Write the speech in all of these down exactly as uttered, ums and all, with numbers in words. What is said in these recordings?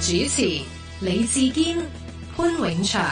主持李志堅、潘永祥。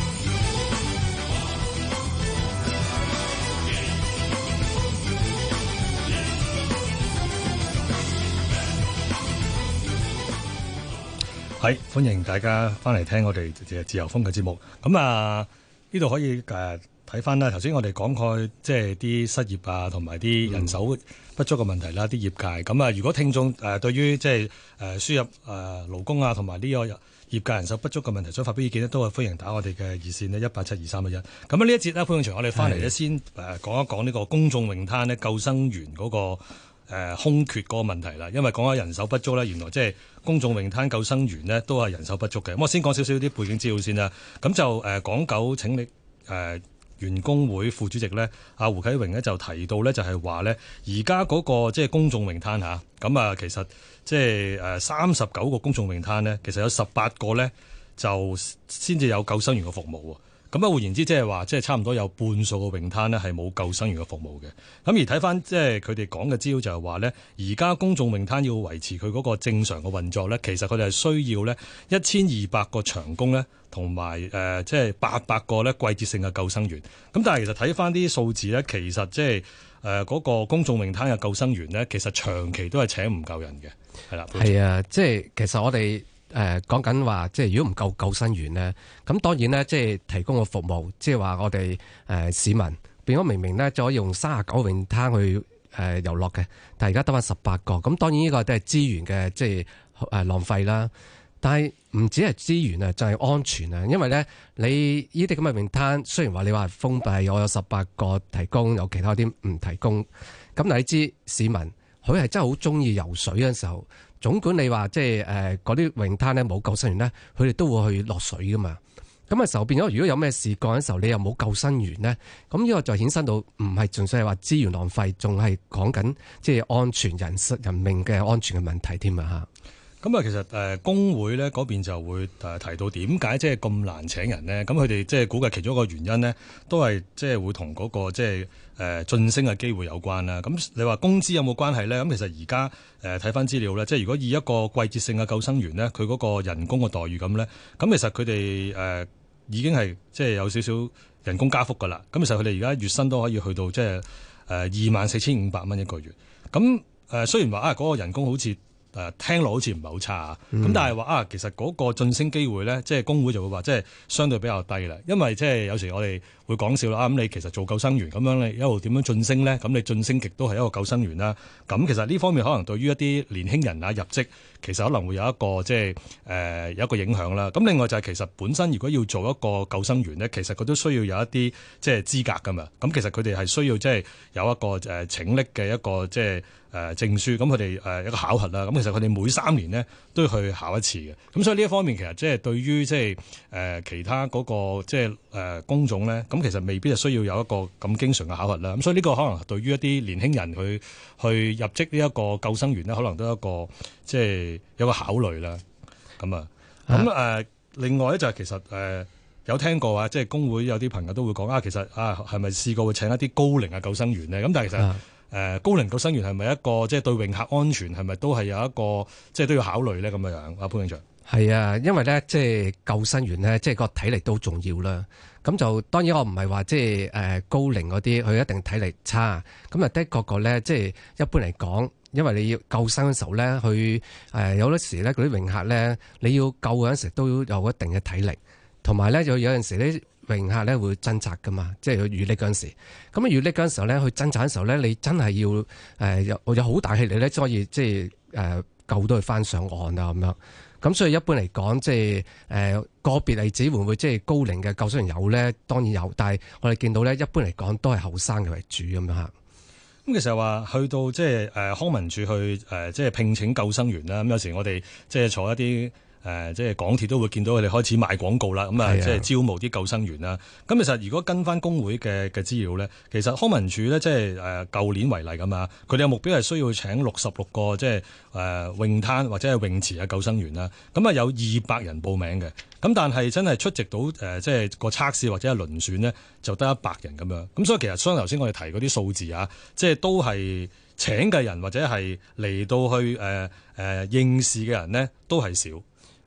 係歡迎大家翻嚟聽我哋自由風嘅節目。咁啊，呢度可以誒睇翻啦。頭先我哋講過即係啲失業啊，同埋啲人手不足嘅問題啦，啲、嗯、業界。咁啊，如果聽眾誒對於即係誒輸入誒勞工啊，同埋呢個業界人手不足嘅問題想發表意見咧，都係歡迎打我哋嘅熱線呢，一八七二三一一。咁啊，呢一節咧，潘永祥，我哋翻嚟咧先誒講一講呢個公眾泳灘咧救生員嗰、那個。誒、呃、空缺嗰個問題啦，因為講緊人手不足咧，原來即係公眾泳灘救生員呢都係人手不足嘅。咁我先講少少啲背景資料先啦。咁就誒、呃、港九拯溺誒員工會副主席咧，阿胡啟榮呢就提到咧，就係話咧，而家嗰個即係公眾泳灘嚇，咁啊其實即係誒三十九個公眾泳灘呢，其實有十八個咧就先至有救生員嘅服務喎。咁啊，換言之，即係話，即係差唔多有半數嘅泳灘呢係冇救生員嘅服務嘅。咁而睇翻即係佢哋講嘅資料就係話呢，而家公眾泳灘要維持佢嗰個正常嘅運作呢，其實佢哋係需要呢一千二百個長工呢，同埋誒即係八百個呢季節性嘅救生員。咁但係其實睇翻啲數字呢，其實即係誒嗰個公眾泳灘嘅救生員呢，其實長期都係請唔夠人嘅。係啦， 係啊，即係其實我哋。誒講緊話，即係如果唔夠救生員呢，咁當然呢，即係提供個服務，即係話我哋誒、呃、市民變咗明明呢，就可以用三十九泳灘去誒、呃、遊樂嘅，但係而家得返十八個，咁當然呢個都係資源嘅即係誒、呃、浪費啦。但係唔止係資源啊，就係、是、安全啊，因為呢，你呢啲咁嘅泳灘，雖然話你話封閉，我有十八個提供，有其他啲唔提供，咁你知市民佢係真係好中意游水嘅時候。總管你話即係誒嗰啲泳灘咧冇救生員咧，佢哋都會去落水噶嘛。咁嘅時候變咗，如果有咩事幹嘅時候，你又冇救生員咧，咁呢個就衍生到唔係純粹係話資源浪費，仲係講緊即係安全人人命嘅安全嘅問題添啊嚇。 咁啊，其實誒工會咧嗰邊就會誒提到點解即係咁難請人呢？咁佢哋即係估計其中一個原因呢，都係即係會同嗰個即係誒晉升嘅機會有關啦。咁你話工資有冇關係咧？咁其實而家誒睇翻資料咧，即係如果以一個季節性嘅救生員咧，佢嗰個人工嘅待遇咁咧，咁其實佢哋誒已經係即係有少少人工加幅噶啦。咁其實佢哋而家月薪都可以去到即係誒二萬四千五百蚊一個月。咁誒雖然話啊嗰個人工好似誒聽落好似唔係好差啊，咁、嗯、但係話啊，其實嗰個晉升機會咧，即係工會就會話，即係相對比較低啦。因為即係有時我哋會講笑啦，啊咁你其實做救生員咁樣，你一路點樣晉升咧？咁你晉升極都係一個救生員啦。咁其實呢方面可能對於一啲年輕人啊入職，其實可能會有一個即係誒有一個影響啦。咁另外就係其實本身如果要做一個救生員咧，其實佢都需要有一啲即係資格噶嘛。咁其實佢哋係需要即係有一個誒請力嘅一個即係誒證書。咁佢哋誒一個考核啦。咁其實佢哋每三年呢都要去考一次嘅。咁所以呢一方面其實即係對於即係誒其他嗰個即係誒工種咧，咁其實未必係需要有一個咁經常嘅考核啦。咁所以呢個可能對於一啲年輕人去去入職呢一個救生員咧，可能都有一個即係有個考慮啦。咁啊，咁誒另外咧就係其實誒有聽過啊，即係工會有啲朋友都會講啊，其實啊係咪試過會請一啲高齡嘅救生員咧？咁但係其實誒高齡救生員係咪一個即係對泳客安全係咪都係有一個即係都要考慮咧？咁樣樣，阿潘永祥。 係啊，因為咧即係救生員咧，即係個體力都重要啦。咁就當然我唔係話即係誒高齡嗰啲，佢一定體力差。咁啊的確個咧，即係一般嚟講，因為你要救生嘅時候咧，佢誒有啲時咧嗰啲泳客咧，你要救嗰陣時都有一定嘅體力，同埋咧有有陣時啲泳客咧會掙扎噶嘛，即係佢遇溺嗰陣時。咁啊遇溺嗰陣時候咧，佢掙扎嘅時候咧，你真係要誒有有好大氣力咧，先可以即係誒救到佢翻上岸啊咁樣。咁所以一般嚟講，即係誒個別例子會唔會即係高齡嘅救生員有咧？當然有，但係我哋見到咧，一般嚟講都係後生嘅為主咁樣嚇。 咁其實話去到即係誒康文署去誒即係聘請救生員啦。咁有時我哋即係坐一啲誒即係港鐵都會見到佢哋開始賣廣告啦。咁啊即係招募啲救生員啦。咁其實如果跟翻工會嘅嘅資料咧，其實康文署咧即係誒舊年為例咁啊，佢哋嘅目標係需要請六十六個即係誒泳灘或者係泳池嘅救生員啦。咁啊有二百人報名嘅。咁但係真係出席到誒即係個測試或者係遴選呢，就得一百人咁樣。咁所以其實相頭先我哋提嗰啲數字啊，即係都係請嘅人或者係嚟到去誒誒、呃呃、應試嘅人呢，都係少。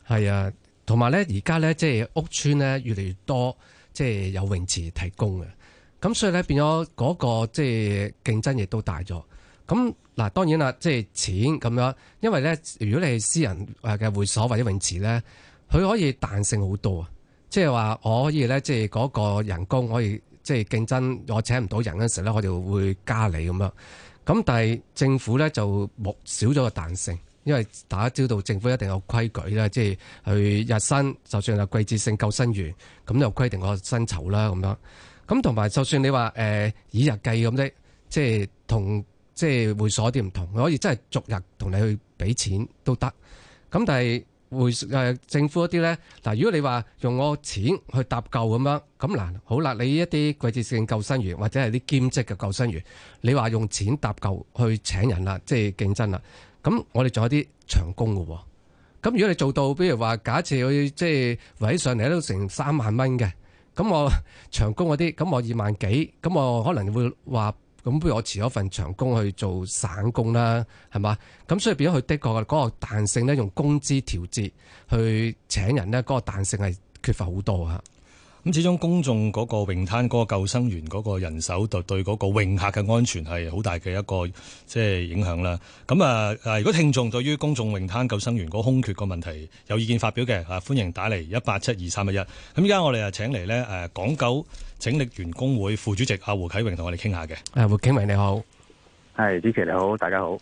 係啊，同埋咧而家咧即係屋邨咧越嚟越多即係有泳池提供嘅，咁所以咧變咗嗰個即係競爭亦都大咗。咁嗱當然啦，即係錢咁樣，因為咧如果你係私人誒嘅會所或者泳池咧，佢可以彈性好多啊，即係話我可以咧即係嗰個人工可以即係競爭，我請唔到人嗰陣時咧，我就會加你咁樣。咁但係政府咧就冇少咗個彈性。因為大家知道政府一定有規矩啦，即係去日薪，就算係季節性救生員，咁就規定個薪酬啦咁樣。咁同埋就算你話誒、呃、以日計咁啫，即係同即係會所啲唔同，可以真係逐日同你去俾錢都得。咁但係會誒、呃、政府嗰啲咧，嗱如果你話用我錢去搭救咁樣，咁嗱好啦，你一啲季節性救生員或者係啲兼職嘅救生員，你話用錢搭救去請人啦，即係競爭啦。咁我哋仲有啲長工嘅喎，咁如果你做到，比如話假設佢即係圍上嚟都成三萬蚊嘅，咁我長工嗰啲，咁我二萬幾，咁我可能會話，咁不如我辭咗份長工去做散工啦，係嘛？咁所以變咗佢的確嗰個彈性咧，用工資調節去請人咧，嗰個彈性係缺乏好多嚇。 咁始終公眾嗰個泳灘嗰個救生員嗰個人手，就對嗰個泳客嘅安全係好大嘅一個即係影響啦。咁啊誒，如果聽眾對於公眾泳灘救生員嗰個空缺個問題有意見發表嘅，啊歡迎打嚟一八七二三一一。咁依家我哋啊請嚟咧誒港九拯溺員工會副主席阿胡啟榮同我哋傾下嘅。誒胡啟榮你好， 係主持你好，大家好。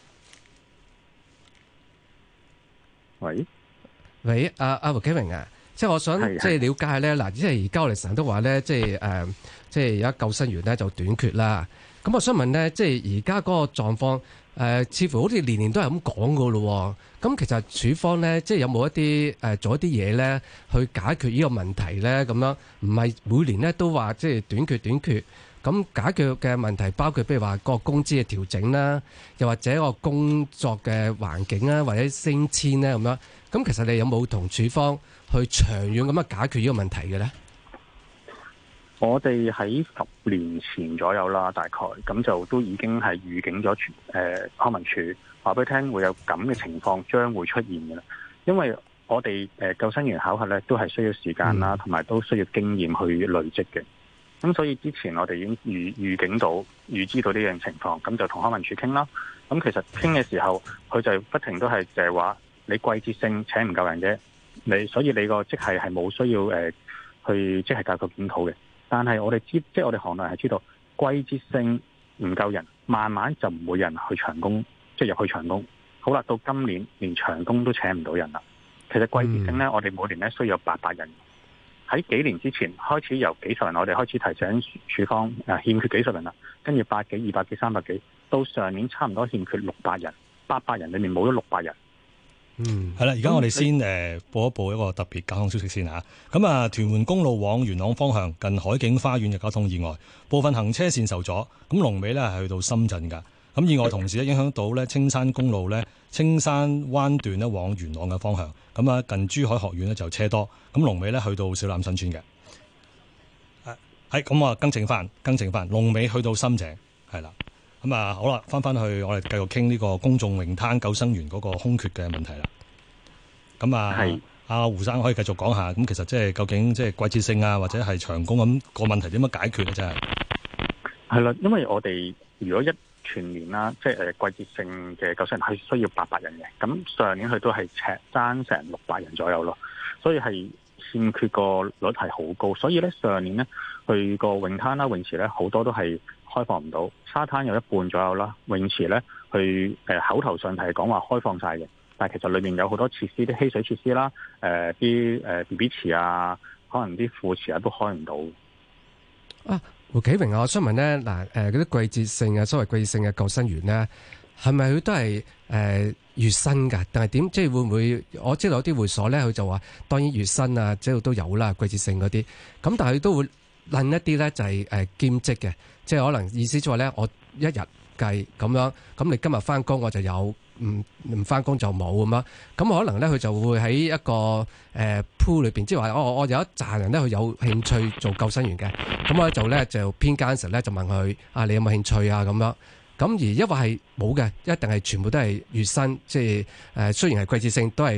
喂喂，阿阿胡啟榮啊。即係我想即係了解咧，嗱，即係而家我哋成日都話咧，即係誒，即係而家救生員咧就短缺啦。咁我想問咧，即係而家嗰個狀況誒，似乎好似年年都係咁講噶咯。咁其實署方咧，即係有冇一啲誒做一啲嘢咧，去解決呢個問題咧？咁樣唔係每年咧都話即係短缺短缺。咁解決嘅問題包括譬如話個工資嘅調整啦，又或者個工作嘅環境啦，或者升遷咧咁樣。咁其實你有冇同署方去長遠咁樣解決呢個問題嘅咧？ 我哋喺十年前左右啦，大概咁就都已經係預警咗，誒康文署話俾佢聽會有咁嘅情況將會出現嘅啦。因為我哋誒救生員考核咧都係需要時間啦，同埋都需要經驗去累積嘅。咁所以之前我哋已經預預警到、預知到呢樣情況，咁就同康文署傾啦。咁其實傾嘅時候，佢就不停都係就係話你季節性請唔夠人啫。你所以你個職系係冇需要誒、呃、去即係教育檢討嘅，但係我哋知即係我哋行內係知道季節性唔夠人，慢慢就唔會有人去長工，即係入去長工。好啦，到今年連長工都請唔到人啦。其實季節性咧，嗯、我哋每年咧需要有八百人。喺幾年之前開始由幾十人，我哋開始提醒署方誒欠缺幾十人啦，跟住百幾、二百幾、三百幾，到上年差唔多欠缺六百人，八百人裏面冇咗六百人。 嗯，係啦，而家我哋先誒、呃、報一報一個特別交通消息先嚇。咁啊，屯門公路往元朗方向近海景花園嘅交通意外，部分行車線受阻。咁龍尾咧係去到深圳㗎。咁意外同時咧影響到咧青山公路咧青山灣段咧往元朗嘅方向。咁啊，近珠海學院咧就車多。咁龍尾咧去到小欖新村嘅。係咁啊，更正翻，更正翻，龍尾去到深井係啦。咁啊，好啦，翻翻去我哋繼續傾呢個公眾泳灘救生員嗰個空缺嘅問題啦。咁啊，係阿胡生可以繼續講下。咁其實即係究竟即係季節性啊，或者係長工咁個問題點樣解決咧？真係係啦，因為我哋如果一全年啦，即係誒季節性嘅救生員係需要八百人嘅，咁上年佢都係赤爭成六百人左右咯，所以係欠缺個率係好高，所以咧上年咧去個泳灘啦、泳池咧好多都係開放唔到，沙灘有一半左右啦，泳池咧去誒口頭上係講話開放晒嘅，但係其實裏面有好多設施，啲嬉水設施啦，誒啲誒 B B 池啊，可能啲副池啊都開唔到啊。胡啟榮啊，我想問咧，嗱，誒嗰啲季節性啊，所謂季節性嘅救生員咧，係咪佢都係誒、呃、月薪㗎？定係點？即係會唔會？我知道有啲會所咧，佢就話當然月薪啊，即係都有啦，季節性嗰啲。咁但係佢都會論一啲咧，就係誒兼職嘅，即係可能意思就話咧，我一日計咁樣，咁你今日翻工我就有。唔唔翻工就冇咁樣，咁可能咧佢就會喺一個誒 pool 裏邊，即係話我我有一紮人咧，佢有興趣做救生員嘅，咁我就咧就偏間時咧就問佢啊，你有冇興趣啊咁樣，咁而因為係冇嘅，一定係全部都係月薪，即係誒雖然係季節性，都係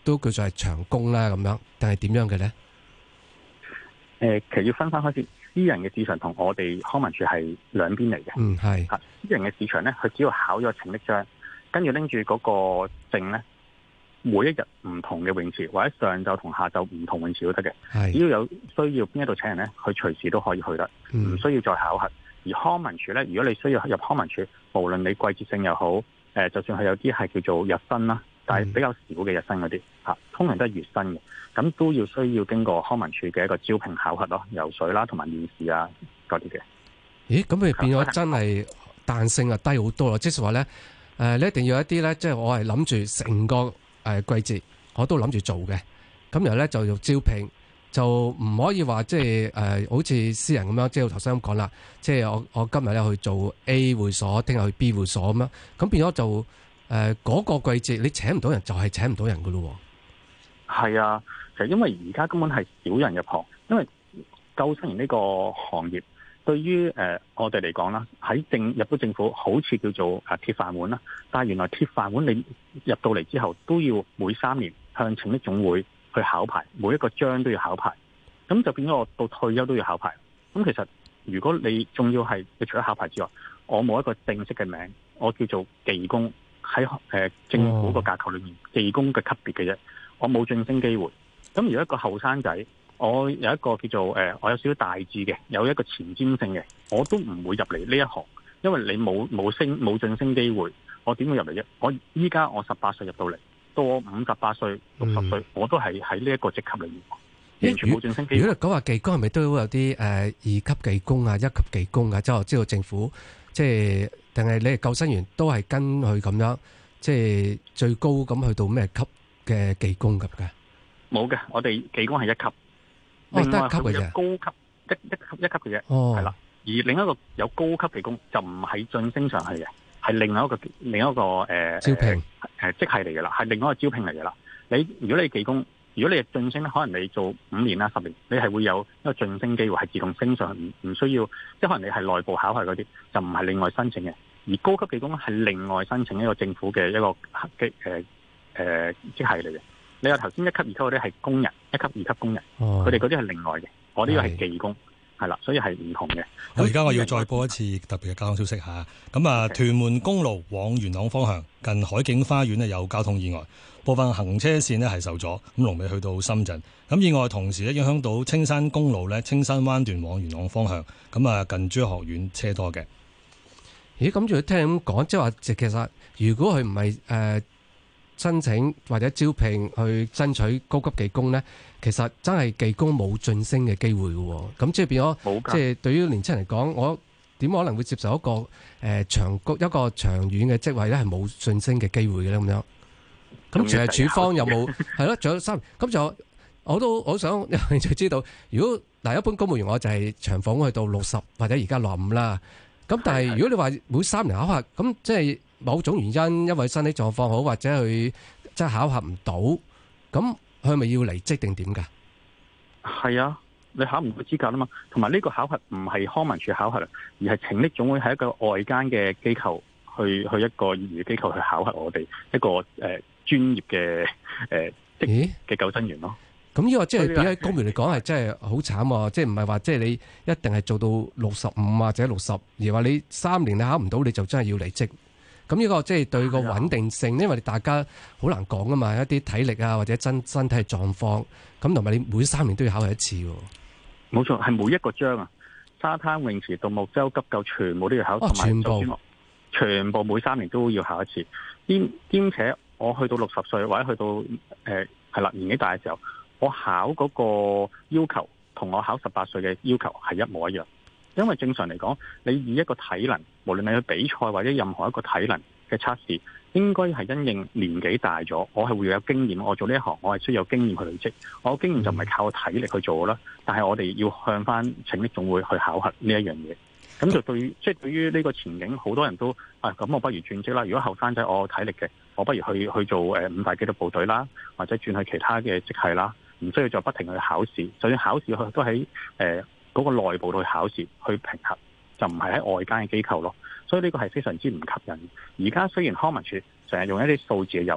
都叫做係長工啦咁樣，定係點樣嘅咧？ 誒、呃，其實要分翻開始，私人嘅市場同我哋康文署係兩邊嚟嘅。 嗯，係。 嚇，私人嘅市場咧，佢只要考咗請力章，跟住拎住嗰個證咧，每一日唔同嘅泳池，或者上晝同下晝唔同泳池都得嘅。係。只要有需要邊一度請人咧，佢隨時都可以去得，唔、嗯、需要再考核。而康文署咧，如果你需要入康文署，無論你季節性又好，誒、呃，就算係有啲係叫做日薪啦，但係比較少嘅日薪嗰啲嚇，通常都係月薪嘅。咁都要需要經過康文署嘅一個招聘考核咯，游水啦同埋面試啊嗰啲嘅。 咦，咁佢變咗真係彈性啊低好多咯，即係話咧，誒你一定要有一啲咧，即係我係諗住成個誒季節我都諗住做嘅，咁然後咧就要招聘，就唔可以話即係誒好似私人咁樣，即係我頭先咁講啦，即係我我今日咧去做 A 會所，聽日去 B 會所咁樣，咁變咗就誒嗰、呃那個季節你請唔到人就係請唔到人噶咯。 係啊。就因為而家根本係少人入行，因為救生員呢個行業對於誒、呃、我哋嚟講啦，喺政入到政府好似叫做誒鐵飯碗啦，但係原來鐵飯碗你入到嚟之後都要每三年向拯溺總會去考牌，每一個章都要考牌，咁就變咗我到退休都要考牌。咁其實如果你仲要係你除咗考牌之外，我冇一個正式嘅名，我叫做技工，喺誒、呃、政府個架構裏面技工嘅級別嘅啫，我冇晉升機會。咁如果一個後生仔，我有一個叫做誒、呃，我有少少大志嘅，有一個前瞻性嘅，我都唔會入嚟呢一行，因為你冇冇升冇晉升機會，我點會入嚟啫？我依家我十八歲入到嚟，到我五十八歲、六十歲，我都係喺呢一個職級裏面，完全冇晉升機會。 如果講話技工，係咪都有啲誒、呃、二級技工啊、一級技工啊？即係我知道政府即係定係你係救生員都係跟佢咁樣，即係最高咁去到咩級嘅技工咁嘅？ 冇嘅，我哋技工係一級， 哦， 另外得一級嘅啫， 高級一一級一級嘅啫，係、哦、啦。而另一個有高級技工就唔係晉升上去嘅，係另外一個另一個誒、呃、 招聘誒職系嚟嘅啦，係另外一個招聘嚟嘅啦。你如果你技工，如果你係晉升咧，可能你做五年啦、十年，你係會有一個晉升機會，係自動升上去，唔唔需要，即係可能你係內部考核嗰啲，就唔係另外申請嘅。而高級技工係另外申請一個政府嘅一個嘅誒誒職系嚟嘅。你話頭先一級、二級嗰啲係工人，一級、二級工人，佢哋嗰啲係另外嘅。我呢個係技工，係啦，所以係唔同嘅。 咁而家我要再播一次特別嘅交通消息嚇。咁啊，屯門公路往元朗方向近海景花園咧有交通意外，部分行車線咧係受阻，咁龍尾去到深圳。咁意外同時咧影響到青山公路咧青山灣段往元朗方向，咁啊近珠學院車多嘅。 咦？咁仲要聽咁講，即係話其實如果佢唔係誒申請或者招聘去爭取高級技工咧，其實真係技工冇晉升嘅機會嘅。咁即係變咗，即係對於年輕人嚟講，我點可能會接受一個誒、呃、長一個長遠嘅職位咧，係冇晉升嘅機會嘅咧？咁樣咁，其實處方有冇係咯？仲有三咁就我都好想有興趣知道，如果嗱一般公務員我就係長俸去到六十或者而家六十五啦。咁但係如果你話每三年考核，咁即係某種原因，因為身體狀況好或者佢即係考核唔到，咁佢咪要離職定點㗎？係啊，你考唔到資格啊嘛。同埋呢個考核唔係康文署考核，而係拯溺總會係一個外間嘅機構去去一個業餘機構去考核我哋一個誒、呃、專業嘅誒職嘅救生員咯。咁呢個即係比起公務員嚟講係真係好慘喎！即係唔係話即係你一定係做到六十五或者六十，而話你三年你考唔到你就真係要離職。咁呢個即係對個穩定性，因為大家好難講啊嘛，一啲體力啊或者真身體狀況，咁同埋你每三年都要考核一次喎。冇錯，係每一個章啊，沙灘泳池、獨木舟、急救全部都要考，同埋全部全部每三年都要考一次。兼兼且我去到六十歲或者去到誒係啦年紀大嘅時候，我考嗰個要求同我考十八歲嘅要求係一模一樣，因為正常嚟講，你以一個體能，無論你去比賽或者任何一個體能嘅測試，應該係因應年紀大咗，我係會有經驗，我做呢一行我係需要有經驗去累積，我嘅經驗就唔係靠體力去做啦，但係我哋要向翻拯溺總會去考核呢一樣嘢，咁就對，即係對於呢個前景，好多人都啊，咁我不如轉職啦。如果後生仔我有體力嘅，我不如去去做誒五大紀律部隊啦，或者轉去其他嘅職系啦。唔需要再不停去考試，就算考試佢都喺誒嗰個內部去考試去評核，就唔係喺外間嘅機構咯。所以呢個係非常之唔吸引。而家雖然康文署成日用一啲數字嘅遊戲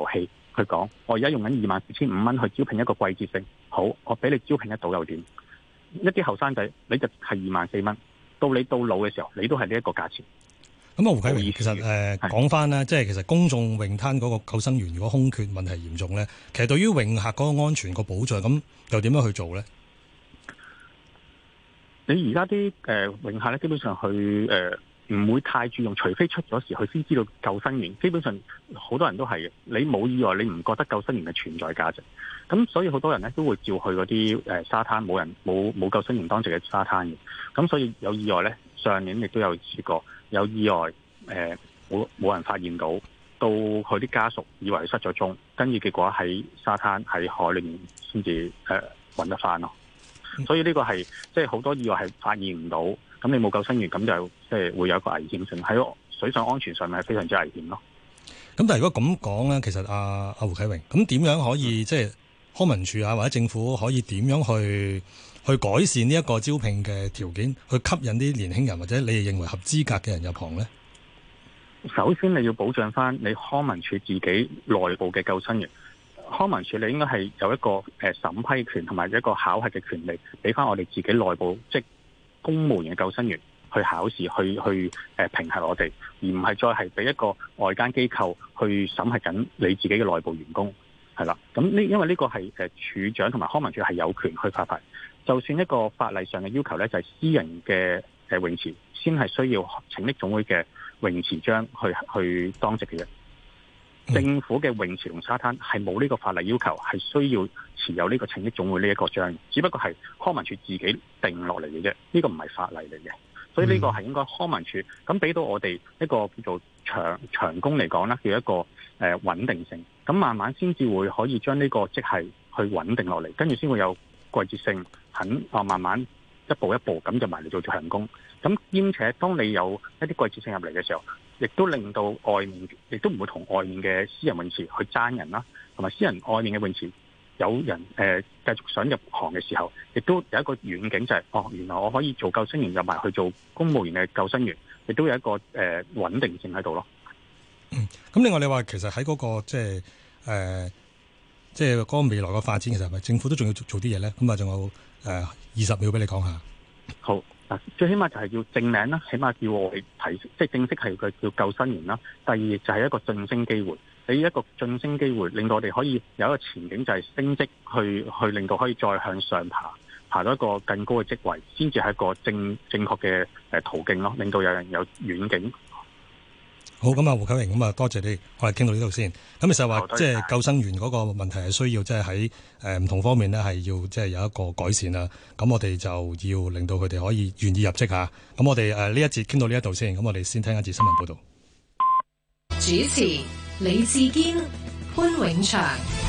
去講，我而家用緊二萬四千五蚊去招聘一個季節性，好，我俾你招聘得到又點？一啲後生仔你就係二萬四蚊，到你到老嘅時候，你都係呢一個價錢。 咁啊，胡啟榮，其實誒講翻咧，即係其實公眾泳灘嗰個救生員如果空缺問題嚴重咧，其實對於泳客嗰個安全個保障，咁又點樣去做咧？你而家啲誒泳客咧，基本上去誒唔會太注重，除非出咗事，佢先知道救生員。基本上好多人都係嘅，你冇意外，你唔覺得救生員嘅存在價值。咁所以好多人咧都會照去嗰啲誒沙灘，冇人冇冇救生員當值嘅沙灘嘅。咁所以有意外咧，上年亦都有試過有意外，誒冇冇人發現到，到佢啲家屬以為失咗蹤，跟住結果喺沙灘喺海裏面先至誒揾得翻咯。所以呢個係即係好多意外係發現唔到，咁你冇救生員，咁就即係會有一個危險性喺水上安全上面係非常之危險咯。咁但係如果咁講咧，其實阿阿胡啟榮，咁點樣可以即係、就是、康文署啊或者政府可以點樣去去改善呢一個招聘嘅條件，去吸引啲年輕人或者你哋認為合資格嘅人入行咧？ 首先你要保障翻你康文署自己內部嘅救生員。康文署你應該係有一個誒審批權同埋一個考核嘅權利，俾翻我哋自己內部即係公務員嘅救生員去考試，去去誒評核我哋，而唔係再係俾一個外間機構去審核緊你自己嘅內部員工，係啦。咁呢因為呢個係誒署長同埋康文署係有權去發牌，就算一個法例上嘅要求咧，就係私人嘅誒泳池先係需要拯溺總會嘅泳池章去去當值嘅啫。政府嘅泳池同沙灘係冇呢個法例要求，係需要持有呢個拯溺總會呢一個章，只不過係康文署自己定落嚟嘅啫，呢個唔係法例嚟嘅，所以呢個係應該康文署咁俾到我哋一個叫做長長工嚟講啦，叫一個誒穩定性，咁慢慢先至會可以將呢個職系去穩定落嚟，跟住先會有季節性，肯啊慢慢一步一步咁就埋嚟做長工，咁兼且當你有一啲季節性入嚟嘅時候，亦都令到外面，亦都唔會同外面嘅私人泳池去爭人啦，同埋私人外面嘅泳池有人誒、呃、繼續想入行嘅時候，亦都有一個遠景就係、是、哦，原來我可以做救生員入埋去做公務員嘅救生員，亦都有一個誒、呃、穩定性喺度咯。 嗯，咁另外你話其實喺嗰、那個即係誒即係嗰個未來嘅發展，其實係咪政府都仲要做做啲嘢咧？咁啊，仲有誒二十秒俾你講下。好。最起碼就係要正名啦，起碼叫我哋提，即係正式係佢叫救生員啦。第二就係一個晉升機會，你一個晉升機會令到我哋可以有一個前景，就係升職去去令到可以再向上爬，爬到一個更高嘅職位，先至係一個正正確嘅誒途徑咯，令到有人有遠景。好，咁啊，胡啟榮，咁啊，多謝你，我哋傾到呢度先。咁其實話即係救生員嗰個問題係需要即係喺誒唔同方面呢係要即係有一個改善啦。咁我哋就要令到佢哋可以願意入職吓。咁我哋誒呢一節傾到呢一度先。咁我哋先聽一節新聞報道。 主持李志堅、潘永祥。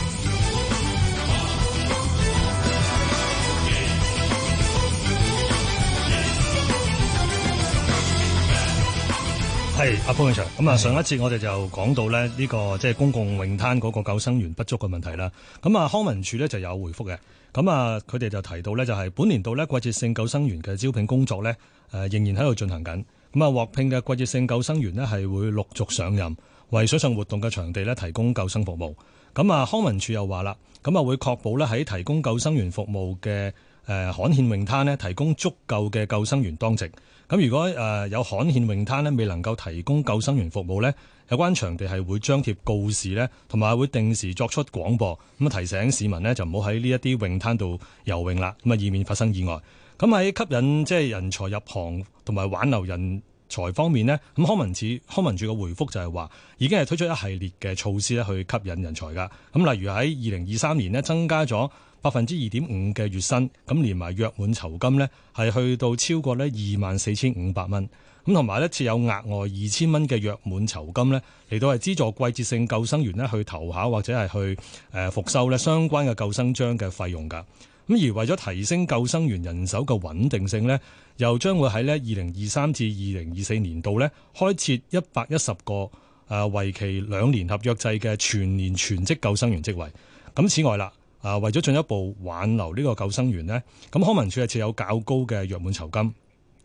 係阿潘永祥，咁啊上一節我哋就講到咧呢個即係公共泳灘嗰個救生員不足嘅問題啦。咁啊康文署咧就有回覆嘅，咁啊佢哋就提到咧就係本年度咧季節性救生員嘅招聘工作咧誒仍然喺度進行緊。咁啊獲聘嘅季節性救生員咧係會陸續上任，為水上活動嘅場地咧提供救生服務。咁啊康文署又話啦，咁啊會確保咧喺提供救生員服務嘅誒罕見泳灘咧提供足夠嘅救生員當值。咁如果誒有罕見泳灘咧未能夠提供救生員服務咧，有關場地係會張貼告示咧，同埋會定時作出廣播，咁啊提醒市民咧就唔好喺呢一啲泳灘度游泳啦，咁啊以免發生意外。咁喺吸引即係人才入行同埋挽留人才方面呢，咁康文署康文署嘅回覆就係話已經係推出一系列嘅措施咧去吸引人才㗎。咁例如喺二零二三年呢，增加咗百分之二點五嘅月薪，咁連埋約滿酬金呢，係去到超過呢二萬四千五百蚊。咁同埋呢設有額外二千蚊嘅約滿酬金呢，嚟到係資助季節性救生員呢去投考或者係去誒復修呢相關嘅救生章嘅費用㗎。咁而為咗提升救生員人手嘅穩定性呢，又將會喺呢二零二三至二零二四年度呢開設一百一十個誒為期兩年合約制嘅全年全職救生員職位。咁此外啦。啊，為咗進一步挽留呢個救生員呢，咁康文署係設有較高嘅約滿酬金，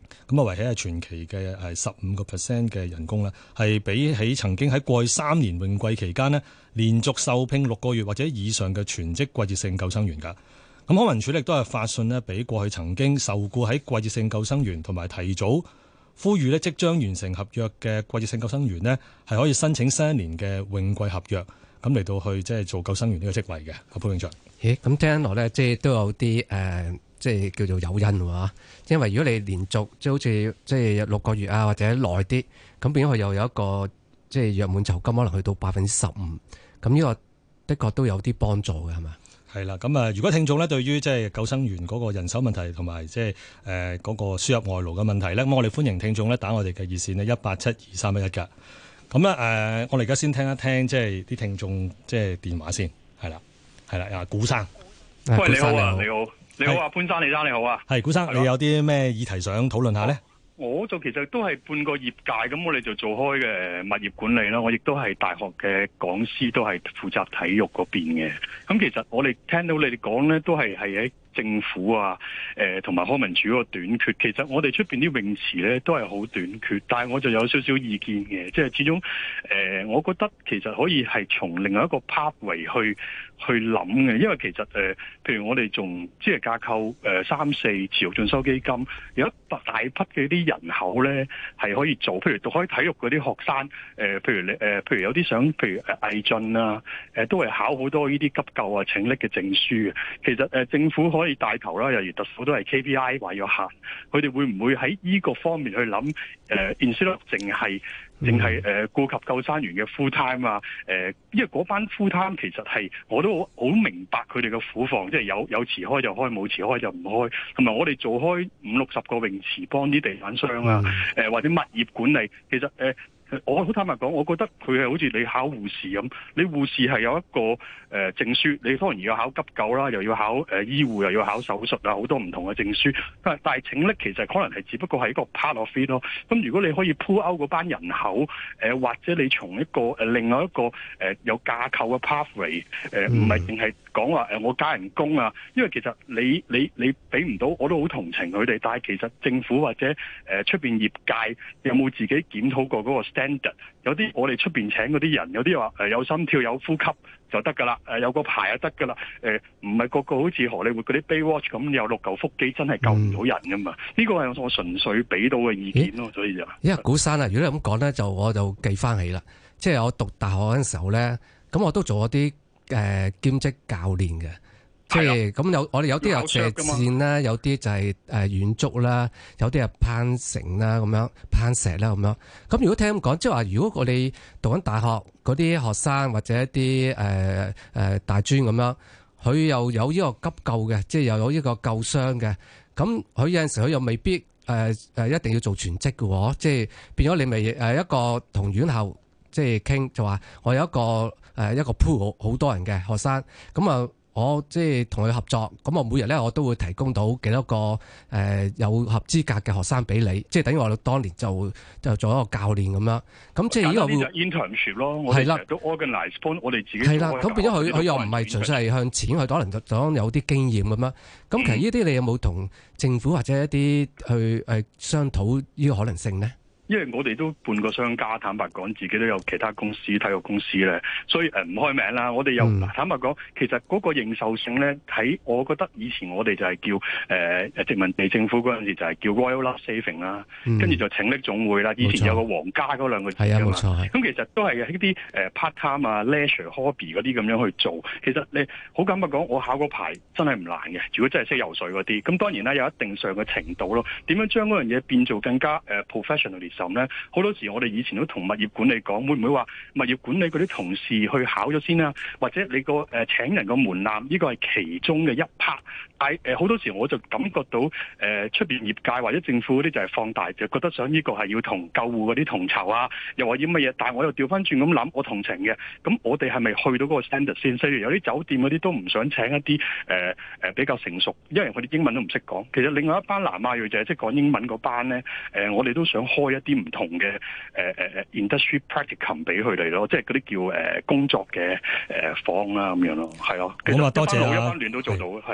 咁啊，維起係全期嘅係十五個 percent 嘅人工啦，係比起曾經喺過去三年泳季期間呢，連續受聘六個月或者以上嘅全職季節性救生員㗎。咁康文署亦都係發信呢，俾過去曾經受僱喺季節性救生員同埋提早呼籲呢即將完成合約嘅季節性救生員呢，係可以申請新一年嘅泳季合約，咁嚟到去即係做救生員呢個職位嘅。阿潘永祥， 咦，咁聽落咧，即係都有啲誒。呃即係叫做誘因喎，因為如果你連續即係好似即係六個月啊或者耐啲，咁變咗佢又有一個即係約滿酬金，可能去到百分之十五，咁呢個的確都有啲幫助嘅，係嘛？係啦，咁啊，如果聽眾咧對於即係救生員嗰個人手問題同埋即係誒嗰個輸入外勞嘅問題咧，咁我哋歡迎聽眾咧打我哋嘅熱線呢，一八七二三一一㗎。咁咧誒，我哋而家先聽一聽即係啲聽眾即係電話先，係啦，係啦，啊古生， 喂，你好啊，你好。你好啊，潘生，李生你好啊， 係古生，你有啲咩議題想討論下呢？ 我就其實都係半個業界，咁我哋就做開嘅物業管理啦。我亦都係大學嘅講師，都係負責體育嗰邊嘅。咁其實我哋聽到你哋講呢，都係係喺政府啊，誒同埋康文署嗰個短缺。其實我哋出邊啲泳池呢，都係好短缺，但係我就有少少意見嘅，即係始終誒、呃，我覺得其實可以係從另外一個 pathway 去去諗嘅，因為其實誒、呃，譬如我哋仲即係架構誒三四持續進修基金，有一大批嘅啲人口咧係可以做，譬如讀開體育嗰啲學生，誒、呃，譬如你誒、呃，譬如有啲想，譬如誒毅進啊，誒、呃，都係考好多呢啲急救啊、請拎嘅證書嘅。其實誒、呃，政府可以帶頭啦，例如特首都係 K P I 話要行，佢哋會唔會喺呢個方面去諗？誒、呃、instead of 淨係淨係誒顧及救生員嘅 full time 啊，誒、呃，因為嗰班 full time 其實係我都好好明白佢哋嘅苦況，即係有有池開就開，冇池開就唔開。同埋我哋做開五六十個泳池，幫啲地產商啊，誒、呃、或者物業管理，其實誒。呃我好坦白講，我覺得佢係好似你考護士咁，你護士係有一個誒、呃、證書，你當然要考急救啦，又要考誒、呃、醫護，又要考手術啊，好多唔同嘅證書。但係但係請拎其實可能係只不過係一個 part of it 咯。咁如果你可以 pull out 嗰班人口，誒、呃、或者你從一個誒、呃、另外一個誒、呃、有架構嘅 pathway， 誒唔係淨係講話誒我加人工啊，因為其實你你你俾唔到，我都好同情佢哋。但係其實政府或者誒出邊業界有冇自己檢討過嗰個standard？有啲我哋出邊請嗰啲人，有啲話誒有心跳有呼吸就得噶啦，誒有個牌就得噶啦，誒唔係個個好似荷里活嗰啲 Baywatch 咁有六嚿腹肌，真係救唔到人噶嘛？呢個係我純粹俾到嘅意見咯，所以就因為古生啊，如果你咁講咧，就我就記翻起啦，即係我讀大學嗰陣時候咧，咁我都做咗啲誒兼職教練嘅。即係咁有，我哋有啲有射箭啦，有啲就係誒遠足啦，有啲係攀繩啦，咁樣攀石啦，咁樣。咁如果聽咁講，即係話如果我哋讀緊大學嗰啲學生或者一啲誒誒大專咁樣，佢又有呢個急救嘅，即係又有呢個救傷嘅，咁佢有陣時佢又未必誒誒、呃、一定要做全職嘅喎，即係變咗你咪誒一個同院校即係傾，就話我有一個誒、呃、一個 pool 好多人嘅學生，咁啊。我即係同佢合作，咁我每日咧我都會提供到幾多個誒、呃、有合資格嘅學生俾你，即係等於我哋當年就就做一個教練咁樣。咁即係呢個會 internship 咯，我哋都 organize 幫我哋自己。係啦， 咁變咗佢佢又唔係純粹係向錢，佢可能就講有啲經驗咁樣。咁其實呢啲你有冇同政府或者一啲去誒商討呢個可能性呢？ 因為我哋都半個商家，坦白講，自己都有其他公司、體育公司咧，所以誒唔開名啦。我哋又、嗯、坦白講，其實嗰個認受性咧，喺我覺得以前我哋就係叫誒誒、呃、殖民地政府嗰陣時就係叫 Royal Life Saving 啦、嗯，跟住就請力總會啦。以前有個皇家嗰兩個字㗎嘛，咁其實都係一啲誒 part time 啊、leisure hobby 嗰啲咁樣去做。其實你好坦白講，我考個牌真係唔難嘅。如果真係識游水嗰啲，咁當然啦，有一定上嘅程度咯。點樣將嗰樣嘢變做更加誒 professionally？咧好多時，我哋以前都同物業管理講，會唔會話物業管理嗰啲同事去考咗先啊？或者你個誒、呃、請人個門檻，呢個係其中嘅一 part。但係誒好多時，我就感覺到誒出邊業界或者政府嗰啲就係放大，就覺得想呢個係要同救護嗰啲同酬啊，又話要乜嘢。但係我又調翻轉咁諗，我同情嘅。咁我哋係咪去到嗰個 standard 先？例如有啲酒店嗰啲都唔想請一啲誒誒比較成熟，因為佢哋英文都唔識講。其實另外一班南亞裔就係識講英文嗰班咧，誒、呃、我哋都想開一啲唔同嘅誒誒誒 industry practicum 俾佢哋咯，即係嗰啲叫誒工作嘅誒坊啦咁樣咯，係咯。 好啊，多謝啊， 一班聯都做到，係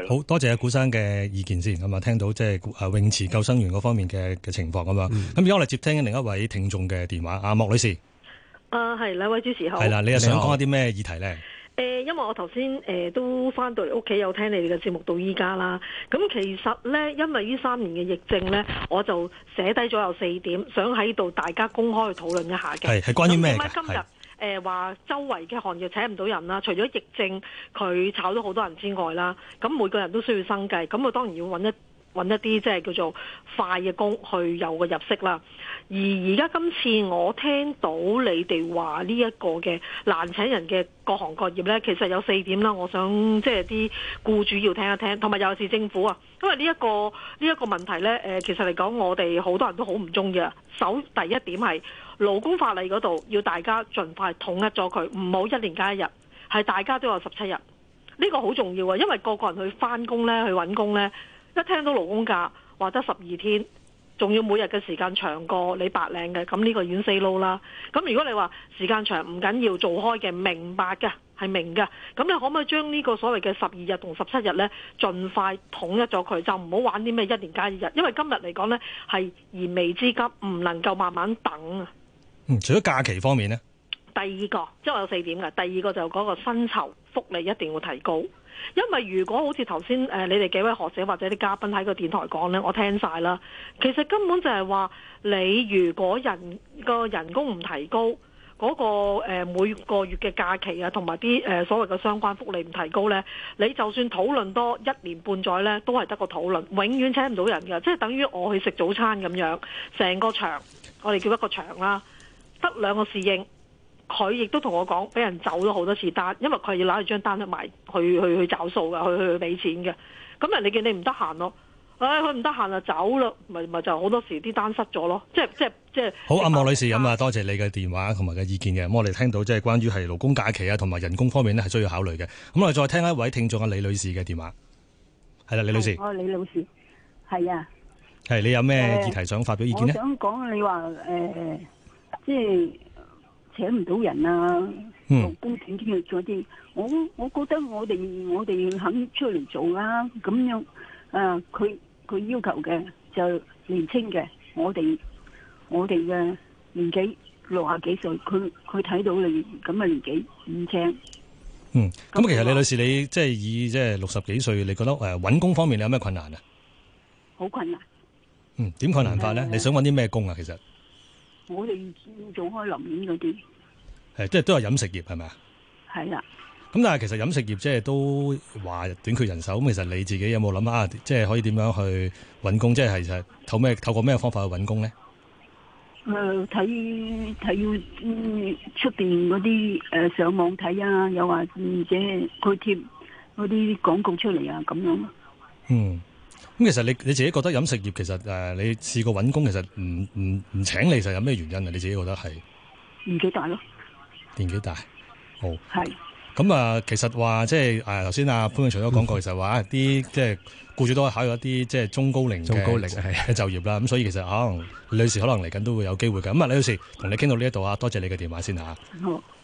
咯。 好多謝阿古生嘅意見先，咁啊聽到即係泳池救生員嗰方面嘅嘅情況咁樣。咁而家我哋接聽另一位聽眾嘅電話，阿莫女士。 啊，係兩位主持好。 係啦，你又想講一啲咩議題咧？ 誒、呃，因為我頭先誒都翻到嚟屋企有聽你哋嘅節目到依家啦。咁其實咧，因為呢三年嘅疫症咧，我就寫低咗有四點，想喺度大家公開去討論一下嘅。 係係關於咩嘅？ 點解今日誒話周圍嘅行業請唔到人啦？除咗疫症佢炒咗好多人之外啦，咁每個人都需要生計，咁我當然要揾一揾一啲即係叫做快嘅工去有個入息啦。而而家今次我聽到你哋話呢一個嘅難請人嘅各行各業呢，其實有四點啦。我想即係啲僱主要聽一聽，同埋尤其是政府啊，因為呢一個呢一個問題呢，誒其實嚟講我哋好多人都好唔中意啊。首第一點係勞工法例嗰度要大家盡快統一咗佢，唔好一年加一日，係大家都有十七日。呢個好重要啊，因為個個人去返工呢，去揾工呢。一聽到勞工假話得十二天，仲要每日嘅時間長過你白領嘅，咁呢個已經 say no 啦。咁如果你話時間長唔緊要，做開嘅明白嘅係明嘅，咁你可唔可以將呢個所謂嘅十二日同十七日呢，盡快統一咗佢，就唔好玩啲咩一年加一日，因為今日嚟講呢，係燃眉之急，唔能夠慢慢等啊。 嗯，除咗假期方面呢？ 第二個即係我有四點嘅，第二個就嗰個薪酬福利一定要提高。因為如果好似頭先誒你哋幾位學者或者啲嘉賓喺個電台講呢，我聽晒啦。其實根本就係話你如果人個人工唔提高，嗰個誒每個月嘅假期啊，同埋啲誒所謂嘅相關福利唔提高呢，你就算討論多一年半載呢，都係得個討論，永遠請唔到人㗎。即係等於我去食早餐咁樣，成個場我哋叫一個場啦，得兩個侍應。佢亦都同我講，俾人走咗好多次單，因為佢要攞住張單去埋去去去找數㗎，去去去俾錢嘅。咁人哋見你唔得閒咯，唉，佢唔得閒就走啦，咪咪就好多時啲單失咗咯。即係即係即係。好， 阿莫女士咁啊，多謝你嘅電話同埋嘅意見嘅。咁我哋聽到即係關於係勞工假期啊同埋人工方面呢係需要考慮嘅。咁我哋再聽一位聽眾嘅李女士嘅電話。係啦，李女士。 哦，李老師，係啊。 係，你有咩議題想發表意見呢？ 呃、我想講你話誒、呃，即係。請唔到人啊，勞工斷斷咗啲，我我覺得我哋我哋肯出嚟做啦，咁樣啊，佢佢要求嘅就年輕嘅，我哋我哋嘅年紀六十幾歲，佢佢睇到你咁嘅年紀唔請。 嗯，咁其實李女士你即係以即係六十幾歲，你覺得誒揾工方面你有咩困難啊？ 好困難。 嗯，點困難法咧？你想揾啲咩工啊？其實？ 我哋做開林園嗰啲， 係即係都係飲食業係咪啊？ 係啦。 咁但係其實飲食業即係都話短缺人手，咁其實你自己有冇諗下，即係可以點樣去揾工？即係其實透咩透過咩方法去揾工咧？ 誒睇睇出邊嗰啲誒上網睇啊，又或者佢貼嗰啲廣告出嚟啊，咁樣。嗯。 咁其實你你自己覺得飲食業其實誒、呃，你試過揾工，其實唔唔唔請你，其實有咩原因啊？你自己覺得係年紀大咯， 年紀大，好係。 咁啊、呃，其實話即係誒，頭先阿潘永祥都講過，其實話啲即係僱主都係考慮一啲即係中高齡中高齡嘅就業啦。咁所以其實可能李女士可能嚟緊都會有機會嘅。咁啊，李女士同你傾到呢一度啊，多謝你嘅電話先嚇。 好。